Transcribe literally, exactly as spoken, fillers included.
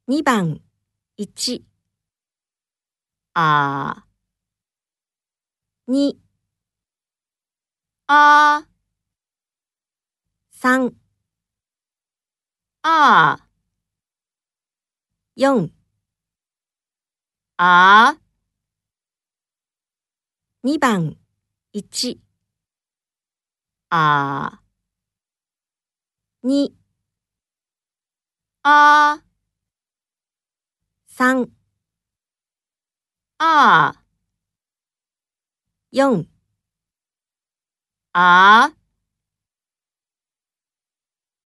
にばんいちあにあさんあよんあにばんいちあにあさんあよんあ